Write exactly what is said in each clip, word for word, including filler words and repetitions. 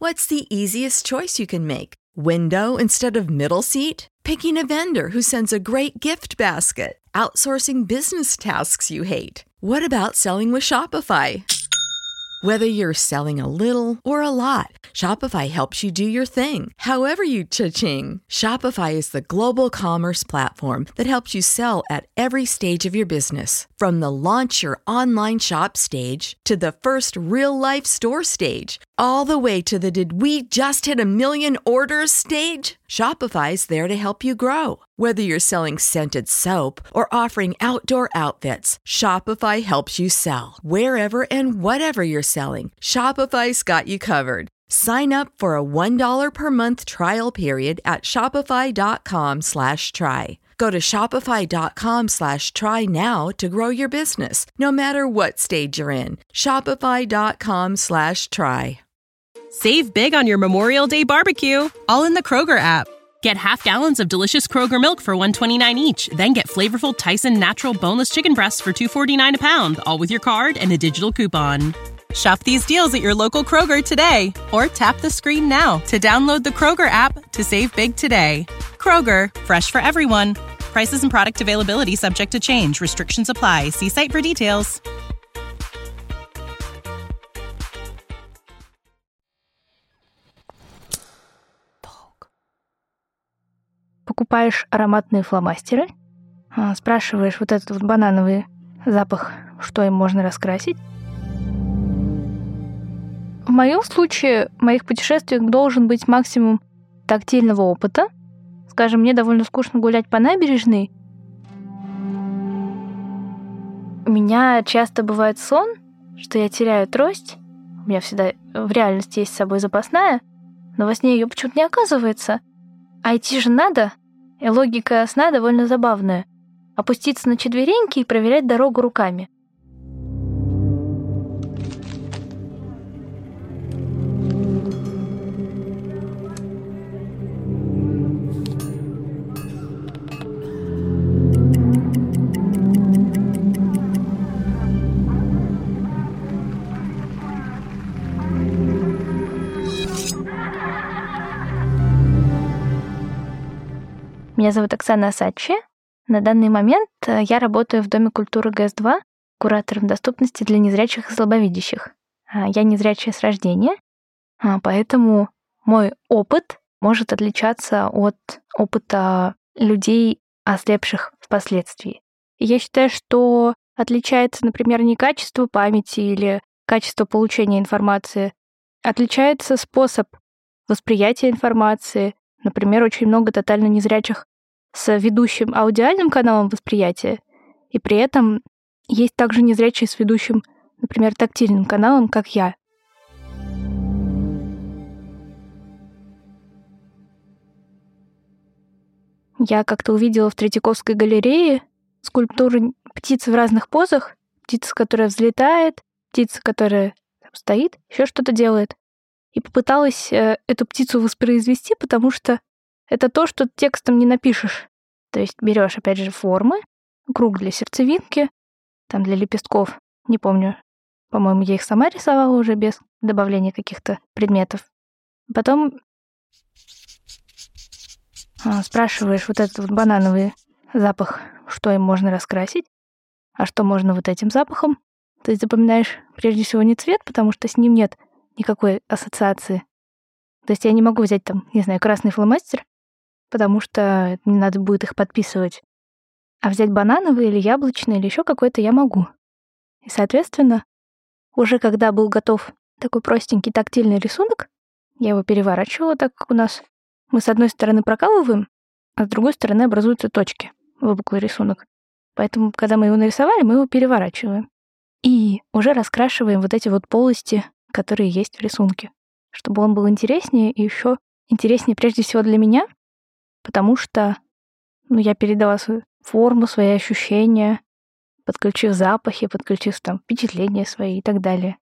What's the easiest choice you can make? Window instead of middle seat? Picking a vendor who sends a great gift basket? Outsourcing business tasks you hate? What about selling with Shopify? Whether you're selling a little or a lot, Shopify helps you do your thing, however you cha-ching. Shopify is the global commerce platform that helps you sell at every stage of your business. From the launch your online shop stage to the first real-life store stage, all the way to the did we just hit a million orders stage. Shopify's there to help you grow. Whether you're selling scented soap or offering outdoor outfits, Shopify helps you sell. Wherever and whatever you're selling, Shopify's got you covered. Sign up for a one dollar per month trial period at shopify.com slash try. Go to shopify.com slash try now to grow your business, no matter what stage you're in. Shopify.com slash try. Save big on your Memorial Day barbecue, all in the Kroger app. Get half gallons of delicious Kroger milk for one dollar and twenty-nine cents each. Then get flavorful Tyson natural boneless chicken breasts for two dollars and forty-nine cents a pound, all with your card and a digital coupon. Shop these deals at your local Kroger today, or tap the screen now to download the Kroger app to save big today. Kroger, fresh for everyone. Prices and product availability subject to change. Restrictions apply. See site for details. Покупаешь ароматные фломастеры, спрашиваешь вот этот вот банановый запах, что им можно раскрасить. В моем случае в моих путешествиях должен быть максимум тактильного опыта. Скажем, мне довольно скучно гулять по набережной. У меня часто бывает сон, что я теряю трость. У меня всегда в реальности есть с собой запасная, но во сне ее почему-то не оказывается. А идти же надо, и логика сна довольно забавная. Опуститься на четвереньки и проверять дорогу руками. Меня зовут Оксана Асачи. На данный момент я работаю в Доме культуры гэ эс два куратором доступности для незрячих и слабовидящих. Я незрячая с рождения, поэтому мой опыт может отличаться от опыта людей, ослепших впоследствии. И я считаю, что отличается, например, не качество памяти или качество получения информации, отличается способ восприятия информации. Например, очень много тотально незрячих с ведущим аудиальным каналом восприятия, и при этом есть также незрячие с ведущим, например, тактильным каналом, как я. Я как-то увидела в Третьяковской галерее скульптуры птицы в разных позах. Птица, которая взлетает, птица, которая там стоит, еще что-то делает. И попыталась э, эту птицу воспроизвести, потому что это то, что текстом не напишешь. То есть берешь, опять же, формы, круг для сердцевинки, там для лепестков, не помню, по-моему, я их сама рисовала уже без добавления каких-то предметов. Потом а, спрашиваешь вот этот вот банановый запах, что им можно раскрасить, а что можно вот этим запахом. То есть запоминаешь прежде всего не цвет, потому что с ним нет никакой ассоциации. То есть я не могу взять там, не знаю, красный фломастер, потому что мне надо будет их подписывать. А взять банановый или яблочный или еще какой-то я могу. И, соответственно, уже когда был готов такой простенький тактильный рисунок, я его переворачивала так, как у нас. Мы с одной стороны прокалываем, а с другой стороны образуются точки, выпуклый рисунок. Поэтому, когда мы его нарисовали, мы его переворачиваем. И уже раскрашиваем вот эти вот полости, которые есть в рисунке, чтобы он был интереснее и еще интереснее прежде всего для меня, потому что ну, я передала свою форму, свои ощущения, подключив запахи, подключив там впечатления свои и так далее.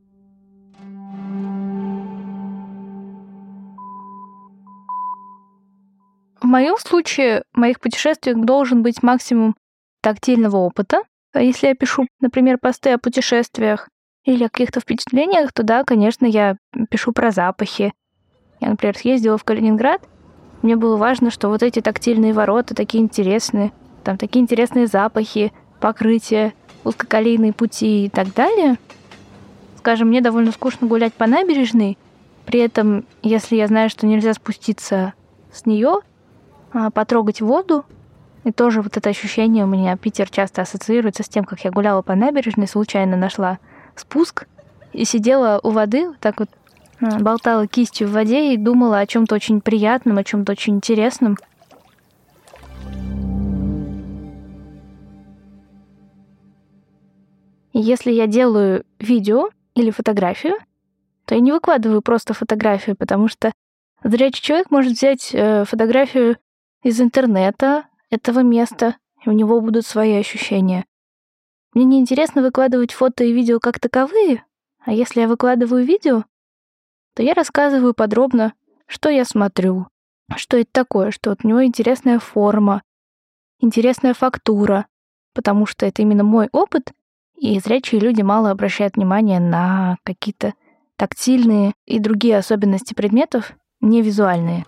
В моем случае в моих путешествиях должен быть максимум тактильного опыта. Если я пишу, например, посты о путешествиях или о каких-то впечатлениях, то да, конечно, я пишу про запахи. Я, например, съездила в Калининград, мне было важно, что вот эти тактильные ворота такие интересные, там такие интересные запахи, покрытия, узкоколейные пути и так далее. Скажем, мне довольно скучно гулять по набережной, при этом, если я знаю, что нельзя спуститься с нее, а потрогать воду, и тоже вот это ощущение у меня, Питер часто ассоциируется с тем, как я гуляла по набережной, случайно нашла спуск и сидела у воды, вот так вот болтала кистью в воде и думала о чем-то очень приятном, о чем-то очень интересном. И если я делаю видео или фотографию, то я не выкладываю просто фотографию, потому что зрячий человек может взять фотографию из интернета этого места, и у него будут свои ощущения. Мне неинтересно выкладывать фото и видео как таковые, а если я выкладываю видео, то я рассказываю подробно, что я смотрю, что это такое, что вот у него интересная форма, интересная фактура, потому что это именно мой опыт, и зрячие люди мало обращают внимание на какие-то тактильные и другие особенности предметов, не визуальные.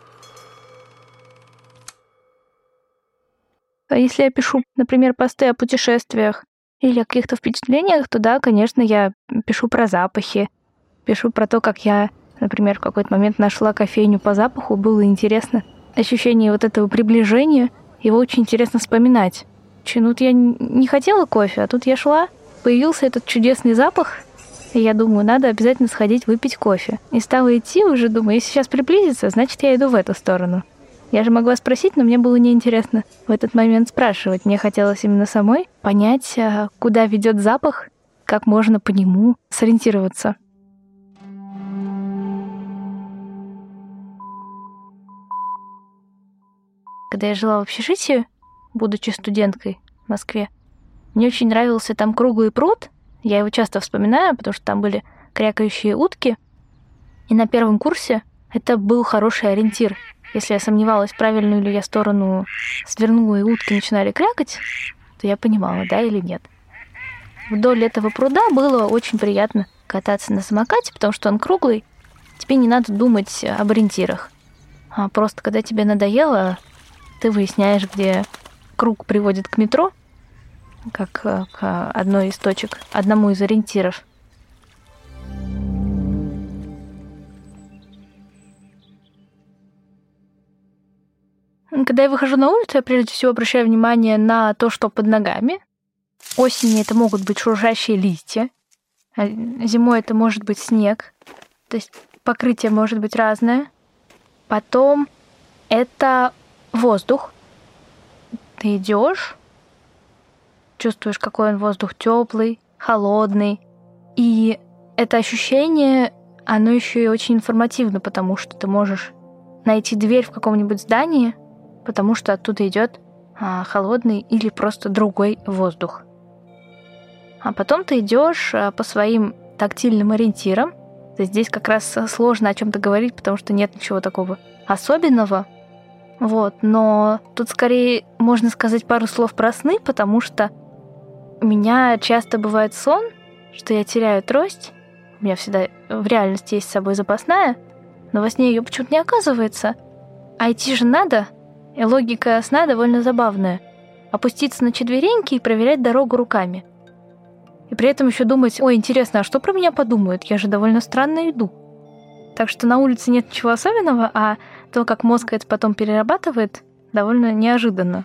А если я пишу, например, посты о путешествиях или о каких-то впечатлениях, то да, конечно, я пишу про запахи, пишу про то, как я, например, в какой-то момент нашла кофейню по запаху, было интересно. Ощущение вот этого приближения, его очень интересно вспоминать. Ну, вот я не хотела кофе, а тут я шла, появился этот чудесный запах, и я думаю, надо обязательно сходить выпить кофе. И стала идти уже, думаю, если сейчас приблизится, значит, я иду в эту сторону. Я же могла спросить, но мне было неинтересно в этот момент спрашивать. Мне хотелось именно самой понять, куда ведет запах, как можно по нему сориентироваться. Когда я жила в общежитии, будучи студенткой в Москве, мне очень нравился там круглый пруд. Я его часто вспоминаю, потому что там были крякающие утки. И на первом курсе это был хороший ориентир. Если я сомневалась, в правильную ли я сторону свернула, и утки начинали крякать, то я понимала, да или нет. Вдоль этого пруда было очень приятно кататься на самокате, потому что он круглый. Тебе не надо думать об ориентирах. А просто когда тебе надоело, ты выясняешь, где круг приводит к метро, как к одной из точек, одному из ориентиров. Когда я выхожу на улицу, я прежде всего обращаю внимание на то, что под ногами. Осенью это могут быть шуршащие листья, а зимой это может быть снег. То есть покрытие может быть разное. Потом это воздух. Ты идешь, чувствуешь, какой он воздух теплый, холодный. И это ощущение, оно еще и очень информативно, потому что ты можешь найти дверь в каком-нибудь здании, потому что оттуда идет а, холодный или просто другой воздух. А потом ты идешь а, по своим тактильным ориентирам. То есть здесь как раз сложно о чем-то говорить, потому что нет ничего такого особенного. Вот, но тут скорее можно сказать пару слов про сны, потому что у меня часто бывает сон, что я теряю трость. У меня всегда в реальности есть с собой запасная, но во сне ее почему-то не оказывается. А идти же надо, и логика сна довольно забавная. Опуститься на четвереньки и проверять дорогу руками. И при этом еще думать, ой, интересно, а что про меня подумают? Я же довольно странно иду. Так что на улице нет ничего особенного, а то, как мозг это потом перерабатывает, довольно неожиданно.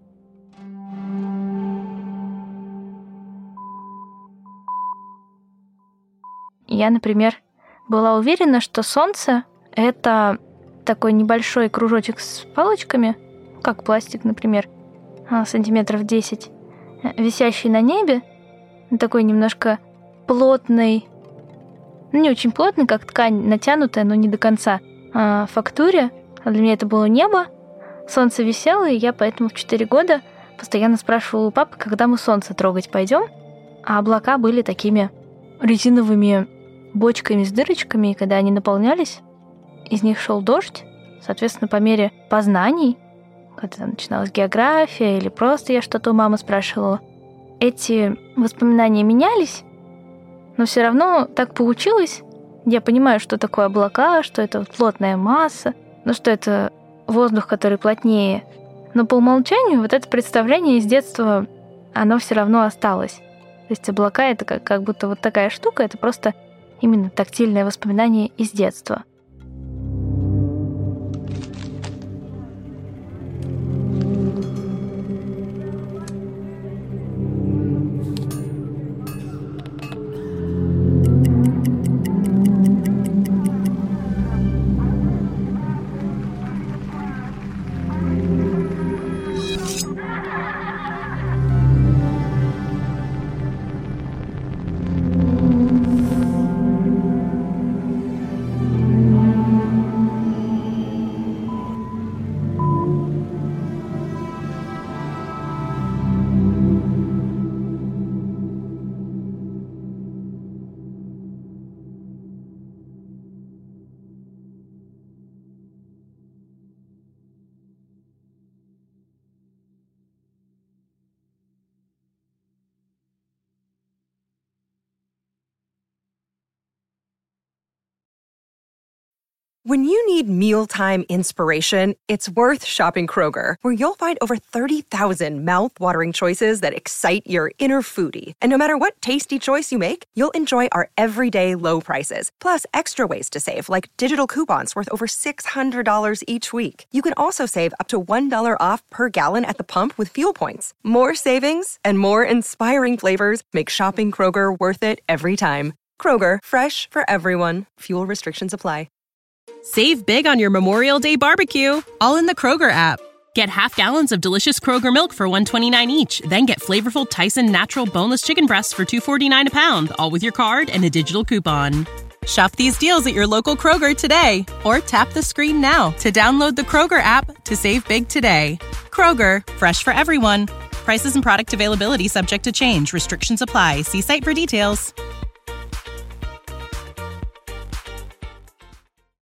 Я, например, была уверена, что солнце — это такой небольшой кружочек с палочками, как пластик, например, сантиметров десять, висящий на небе, такой немножко плотный, ну, не очень плотный, как ткань натянутая, но не до конца, а фактуре. А для меня это было небо, солнце висело, и я поэтому в четыре года постоянно спрашивала у папы, когда мы солнце трогать пойдем, а облака были такими резиновыми бочками с дырочками, и когда они наполнялись, из них шел дождь. Соответственно, по мере познаний, когда начиналась география или просто я что-то у мамы спрашивала, эти воспоминания менялись, Но все равно так получилось. Я понимаю, что такое облака, что это вот плотная масса, ну что это воздух, который плотнее. Но по умолчанию вот это представление из детства, оно все равно осталось. То есть облака — это как, как будто вот такая штука, это просто именно тактильное воспоминание из детства. When you need mealtime inspiration, it's worth shopping Kroger, where you'll find over thirty thousand mouth-watering choices that excite your inner foodie. And no matter what tasty choice you make, you'll enjoy our everyday low prices, plus extra ways to save, like digital coupons worth over six hundred dollars each week. You can also save up to one dollar off per gallon at the pump with fuel points. More savings and more inspiring flavors make shopping Kroger worth it every time. Kroger, fresh for everyone. Fuel restrictions apply. Save big on your Memorial Day barbecue, all in the Kroger app. Get half gallons of delicious Kroger milk for one dollar and twenty-nine cents each. Then get flavorful Tyson natural boneless chicken breasts for two dollars and forty-nine cents a pound, all with your card and a digital coupon. Shop these deals at your local Kroger today, or tap the screen now to download the Kroger app to save big today. Kroger, fresh for everyone. Prices and product availability subject to change. Restrictions apply. See site for details.